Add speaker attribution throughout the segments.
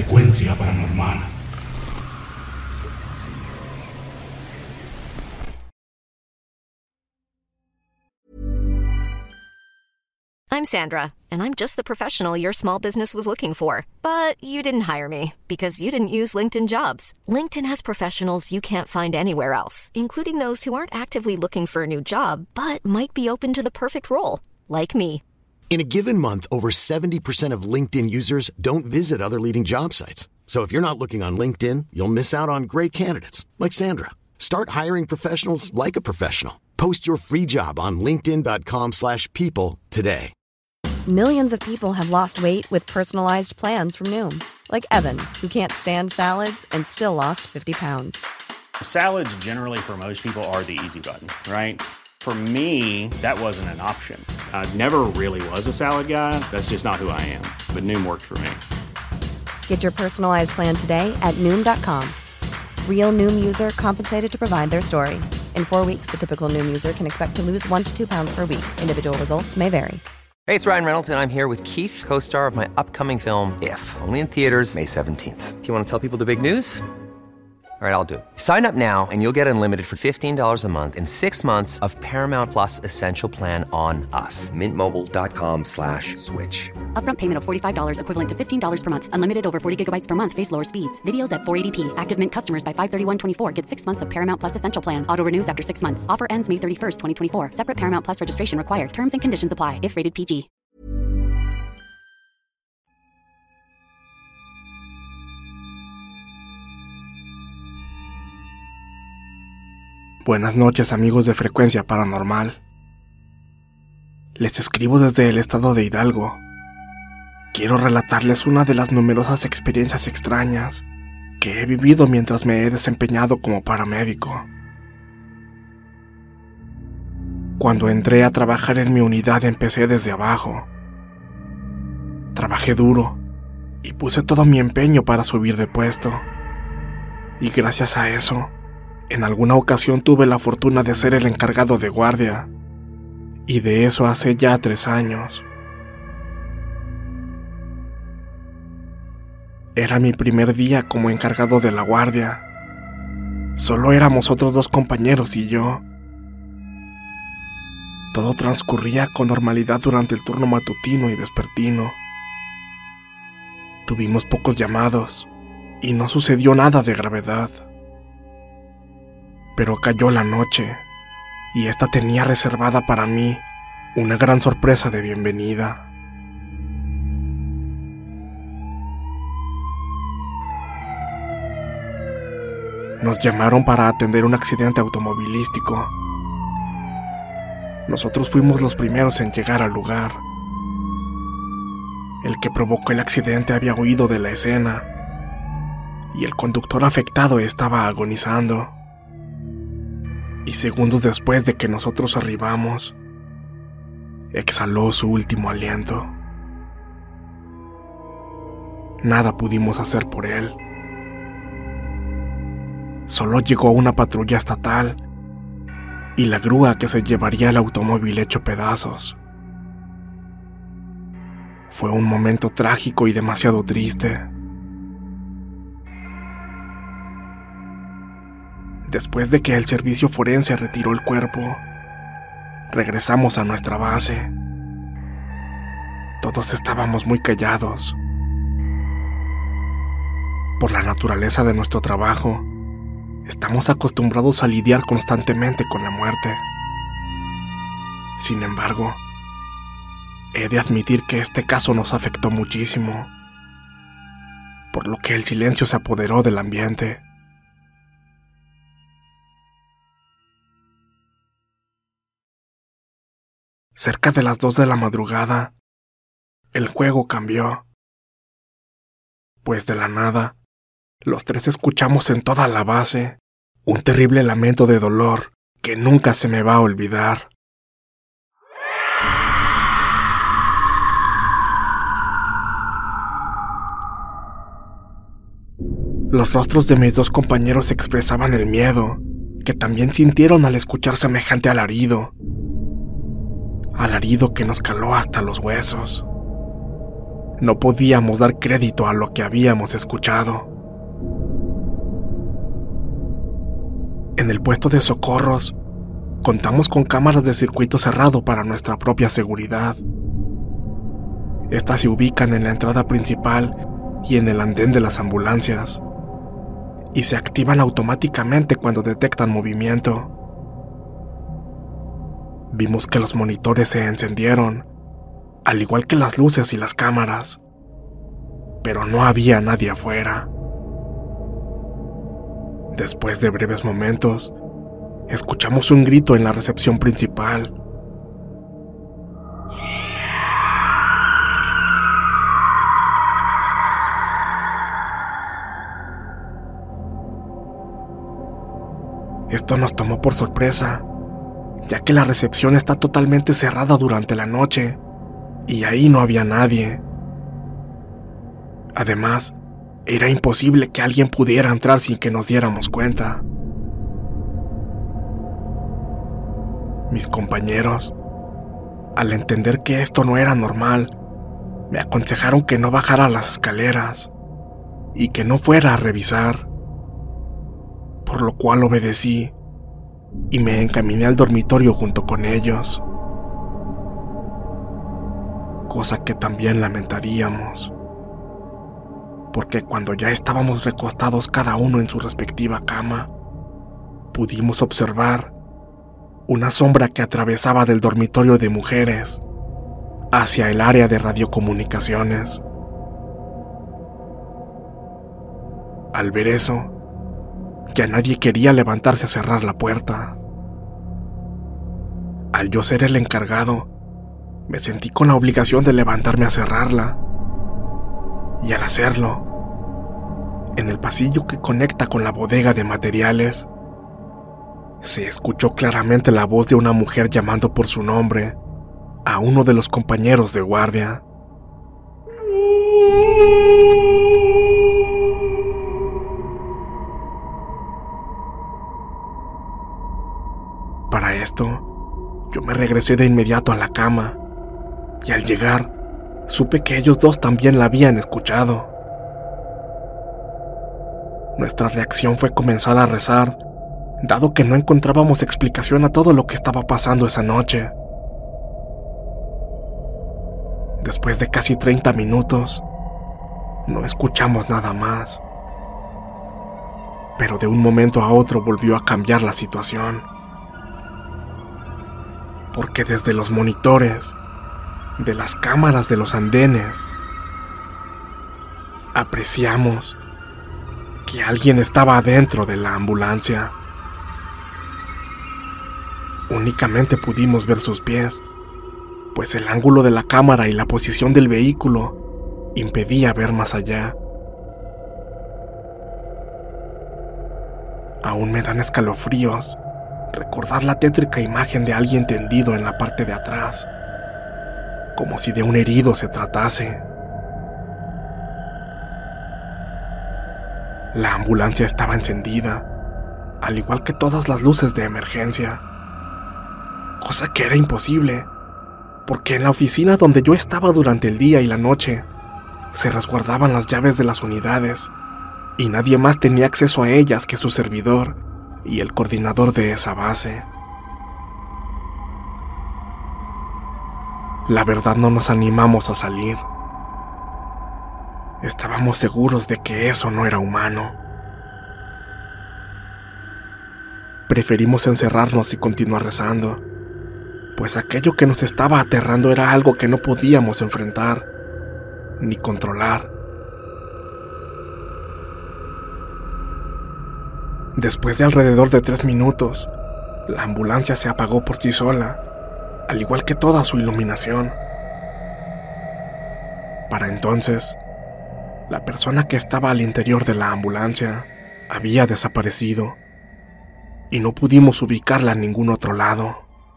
Speaker 1: Frecuencia Paranormal.
Speaker 2: I'm Sandra, and I'm just the professional your small business was looking for. But you didn't hire me because you didn't use LinkedIn Jobs. LinkedIn has professionals you can't find anywhere else, including those who aren't actively looking for a new job, but might be open to the perfect role, like me.
Speaker 3: In a given month, over 70% of LinkedIn users don't visit other leading job sites. So if you're not looking on LinkedIn, you'll miss out on great candidates like Sandra. Start hiring professionals like a professional. Post your free job on linkedin.com/people today.
Speaker 4: Millions of people have lost weight with personalized plans from Noom. Like Evan, who can't stand salads and still lost 50 pounds.
Speaker 5: Salads generally for most people are the easy button, right? For me, that wasn't an option. I never really was a salad guy. That's just not who I am. But Noom worked for me.
Speaker 4: Get your personalized plan today at Noom.com. Real Noom user compensated to provide their story. In 4 weeks, the typical Noom user can expect to lose 1 to 2 pounds per week. Individual results may vary.
Speaker 6: Hey, it's Ryan Reynolds, and I'm here with Keith, co-star of my upcoming film, If, only in theaters May 17th. Do you want to tell people the big news? All right, I'll do it. Sign up now and you'll get unlimited for $15 a month and 6 months of Paramount Plus Essential Plan on us. MintMobile.com/switch.
Speaker 7: Upfront payment of $45 equivalent to $15 per month. Unlimited over 40 gigabytes per month. Face lower speeds. Videos at 480p. Active Mint customers by 531.24 get 6 months of Paramount Plus Essential Plan. Auto renews after 6 months. Offer ends May 31st, 2024. Separate Paramount Plus registration required. Terms and conditions apply if rated PG.
Speaker 8: Buenas noches, amigos de Frecuencia Paranormal. Les escribo desde el estado de Hidalgo. Quiero relatarles una de las numerosas experiencias extrañas que he vivido mientras me he desempeñado como paramédico. Cuando entré a trabajar en mi unidad empecé desde abajo. Trabajé duro y puse todo mi empeño para subir de puesto. Y gracias a eso, en alguna ocasión tuve la fortuna de ser el encargado de guardia, y de eso hace ya 3 años. Era mi primer día como encargado de la guardia. Solo éramos otros 2 compañeros y yo. Todo transcurría con normalidad durante el turno matutino y vespertino. Tuvimos pocos llamados, y no sucedió nada de gravedad. Pero cayó la noche, y esta tenía reservada para mí una gran sorpresa de bienvenida. Nos llamaron para atender un accidente automovilístico. Nosotros fuimos los primeros en llegar al lugar. El que provocó el accidente había huido de la escena, y el conductor afectado estaba agonizando. Y segundos después de que nosotros arribamos, exhaló su último aliento. Nada pudimos hacer por él. Solo llegó una patrulla estatal y la grúa que se llevaría el automóvil hecho pedazos. Fue un momento trágico y demasiado triste. Después de que el servicio forense retiró el cuerpo, regresamos a nuestra base. Todos estábamos muy callados. Por la naturaleza de nuestro trabajo, estamos acostumbrados a lidiar constantemente con la muerte. Sin embargo, he de admitir que este caso nos afectó muchísimo, por lo que el silencio se apoderó del ambiente. Cerca de las 2 de la madrugada, el juego cambió. Pues de la nada, los 3 escuchamos en toda la base un terrible lamento de dolor que nunca se me va a olvidar. Los rostros de mis 2 compañeros expresaban el miedo que también sintieron al escuchar semejante alarido. Alarido que nos caló hasta los huesos. no podíamos dar crédito a lo que habíamos escuchado. En el puesto de socorros, contamos con cámaras de circuito cerrado para nuestra propia seguridad. Estas se ubican en la entrada principal y en el andén de las ambulancias, y se activan automáticamente cuando detectan movimiento. Vimos que los monitores se encendieron, al igual que las luces y las cámaras, pero no había nadie afuera. Después de breves momentos, escuchamos un grito en la recepción principal. Esto nos tomó por sorpresa, ya que la recepción está totalmente cerrada durante la noche y ahí no había nadie. Además, era imposible que alguien pudiera entrar sin que nos diéramos cuenta. Mis compañeros, al entender que esto no era normal, me aconsejaron que no bajara las escaleras y que no fuera a revisar, por lo cual obedecí y me encaminé al dormitorio junto con ellos, cosa que también lamentaríamos, porque cuando ya estábamos recostados cada uno en su respectiva cama, pudimos observar una sombra que atravesaba del dormitorio de mujeres hacia el área de radiocomunicaciones. Al ver eso, ya nadie quería levantarse a cerrar la puerta. Al yo ser el encargado, me sentí con la obligación de levantarme a cerrarla. Y al hacerlo, en el pasillo que conecta con la bodega de materiales, se escuchó claramente la voz de una mujer llamando por su nombre a uno de los compañeros de guardia. Para esto, yo me regresé de inmediato a la cama, y al llegar, supe que ellos dos también la habían escuchado. Nuestra reacción fue comenzar a rezar, dado que no encontrábamos explicación a todo lo que estaba pasando esa noche. Después de casi 30 minutos, no escuchamos nada más. Pero de un momento a otro volvió a cambiar la situación. Porque desde los monitores, de las cámaras de los andenes, apreciamos que alguien estaba adentro de la ambulancia. Únicamente pudimos ver sus pies, pues el ángulo de la cámara y la posición del vehículo impedía ver más allá. Aún me dan escalofríos recordar la tétrica imagen de alguien tendido en la parte de atrás, como si de un herido se tratase. La ambulancia estaba encendida, al igual que todas las luces de emergencia, cosa que era imposible, porque en la oficina donde yo estaba durante el día y la noche se resguardaban las llaves de las unidades y nadie más tenía acceso a ellas que su servidor y el coordinador de esa base. La verdad, no nos animamos a salir. Estábamos seguros de que eso no era humano. Preferimos encerrarnos y continuar rezando, pues aquello que nos estaba aterrando era algo que no podíamos enfrentar ni controlar. Después de alrededor de 3 minutos, la ambulancia se apagó por sí sola, al igual que toda su iluminación. Para entonces, la persona que estaba al interior de la ambulancia había desaparecido y no pudimos ubicarla en ningún otro lado.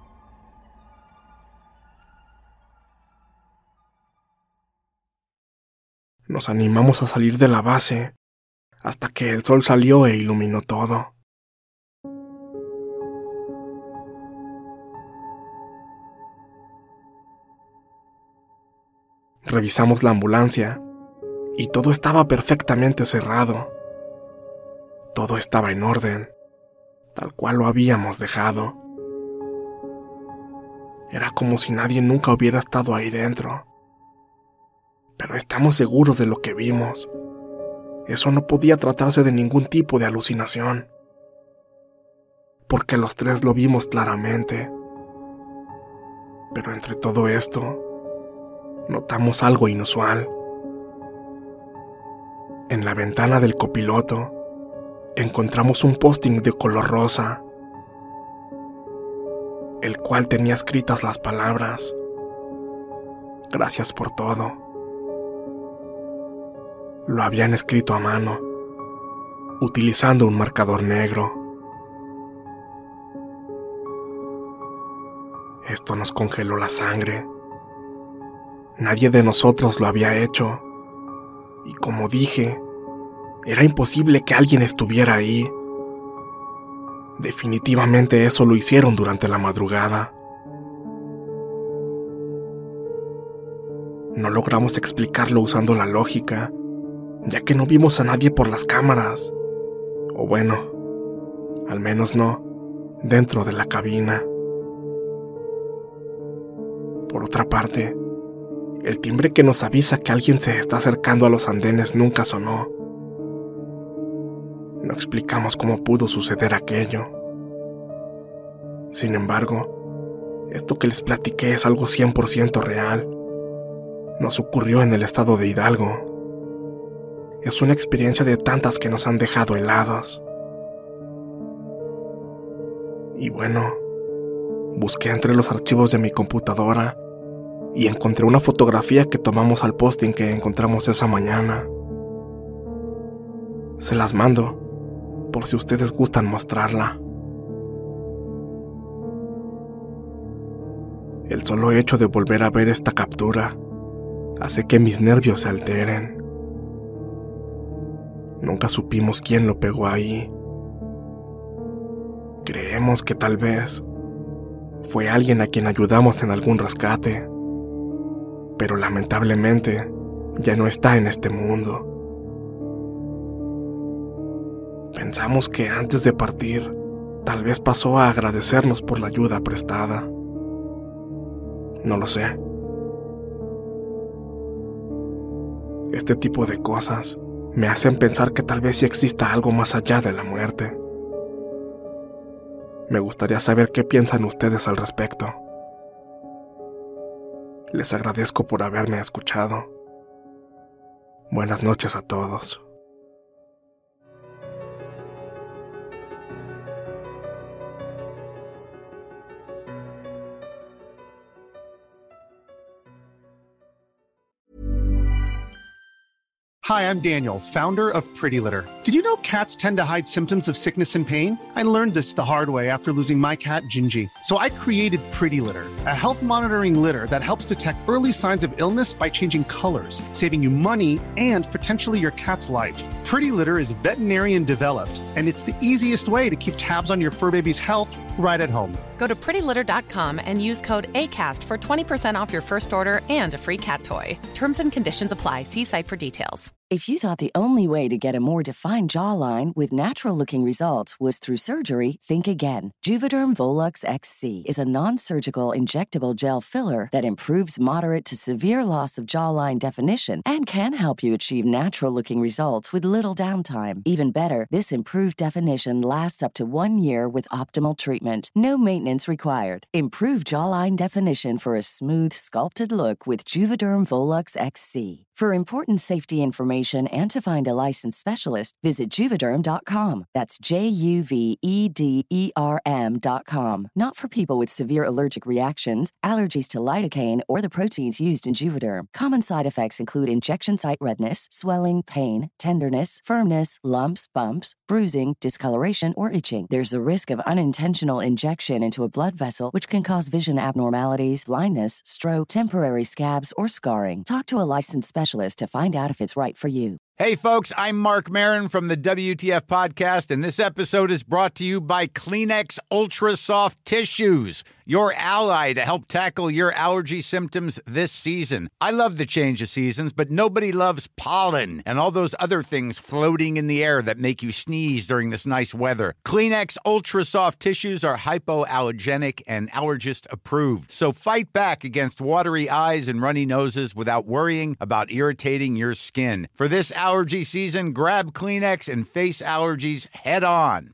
Speaker 8: Nos animamos a salir de la base hasta que el sol salió e iluminó todo. Revisamos la ambulancia y todo estaba perfectamente cerrado. Todo estaba en orden, tal cual lo habíamos dejado. Era como si nadie nunca hubiera estado ahí dentro. Pero estamos seguros de lo que vimos. Eso no podía tratarse de ningún tipo de alucinación, porque los tres lo vimos claramente. Pero entre todo esto, notamos algo inusual. En la ventana del copiloto encontramos un posting de color rosa, el cual tenía escritas las palabras: "Gracias por todo". Lo habían escrito a mano, utilizando un marcador negro. Esto nos congeló la sangre. Nadie de nosotros lo había hecho. Y como dije, era imposible que alguien estuviera ahí. Definitivamente eso lo hicieron durante la madrugada. No logramos explicarlo usando la lógica, ya que no vimos a nadie por las cámaras. O bueno, al menos no dentro de la cabina. Por otra parte, el timbre que nos avisa que alguien se está acercando a los andenes nunca sonó. No explicamos cómo pudo suceder aquello. Sin embargo, esto que les platiqué es algo 100% real. Nos ocurrió en el estado de Hidalgo. Es una experiencia de tantas que nos han dejado helados. Y bueno, busqué entre los archivos de mi computadora y encontré una fotografía que tomamos al posting que encontramos esa mañana. Se las mando, por si ustedes gustan mostrarla. El solo hecho de volver a ver esta captura hace que mis nervios se alteren. Nunca supimos quién lo pegó ahí. Creemos que tal vez fue alguien a quien ayudamos en algún rescate, pero lamentablemente ya no está en este mundo. Pensamos que antes de partir, tal vez pasó a agradecernos por la ayuda prestada. No lo sé. Este tipo de cosas me hacen pensar que tal vez sí exista algo más allá de la muerte. Me gustaría saber qué piensan ustedes al respecto. Les agradezco por haberme escuchado. Buenas noches a todos.
Speaker 1: Hi, I'm Daniel, founder of Pretty Litter. Did you know cats tend to hide symptoms of sickness and pain? I learned this the hard way after losing my cat, Gingy. So I created Pretty Litter, a health monitoring litter that helps detect early signs of illness by changing colors, saving you money and potentially your cat's life. Pretty Litter is veterinarian developed, and it's the easiest way to keep tabs on your fur baby's health right at home.
Speaker 9: Go to prettylitter.com and use code ACAST for 20% off your first order and a free cat toy. Terms and conditions apply. See site for details.
Speaker 10: If you thought the only way to get a more defined jawline with natural-looking results was through surgery, think again. Juvederm Volux XC is a non-surgical injectable gel filler that improves moderate to severe loss of jawline definition and can help you achieve natural-looking results with little downtime. Even better, this improved definition lasts up to 1 year with optimal treatment. No maintenance required. Improve jawline definition for a smooth, sculpted look with Juvederm Volux XC. For important safety information and to find a licensed specialist, visit Juvederm.com. That's JUVEDERM.com. Not for people with severe allergic reactions, allergies to lidocaine, or the proteins used in Juvederm. Common side effects include injection site redness, swelling, pain, tenderness, firmness, lumps, bumps, bruising, discoloration, or itching. There's a risk of unintentional injection into a blood vessel, which can cause vision abnormalities, blindness, stroke, temporary scabs, or scarring. Talk to a licensed specialist to find out if it's right for you.
Speaker 11: Hey, folks, I'm Mark Maron from the WTF Podcast, and this episode is brought to you by Kleenex Ultra Soft Tissues, your ally to help tackle your allergy symptoms this season. I love the change of seasons, but nobody loves pollen and all those other things floating in the air that make you sneeze during this nice weather. Kleenex Ultra Soft Tissues are hypoallergenic and allergist approved. So fight back against watery eyes and runny noses without worrying about irritating your skin. For this allergy season, grab Kleenex and face allergies head on.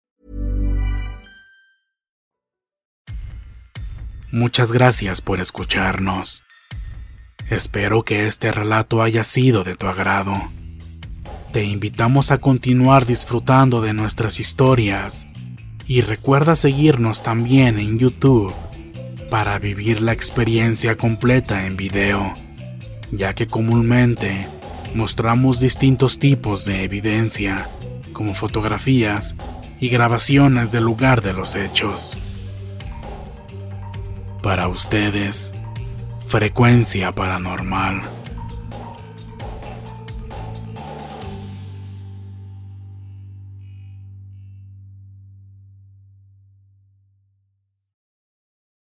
Speaker 8: Muchas gracias por escucharnos. Espero que este relato haya sido de tu agrado. Te invitamos a continuar disfrutando de nuestras historias y recuerda seguirnos también en YouTube para vivir la experiencia completa en video, ya que comúnmente mostramos distintos tipos de evidencia, como fotografías y grabaciones del lugar de los hechos. Para ustedes, Frecuencia Paranormal.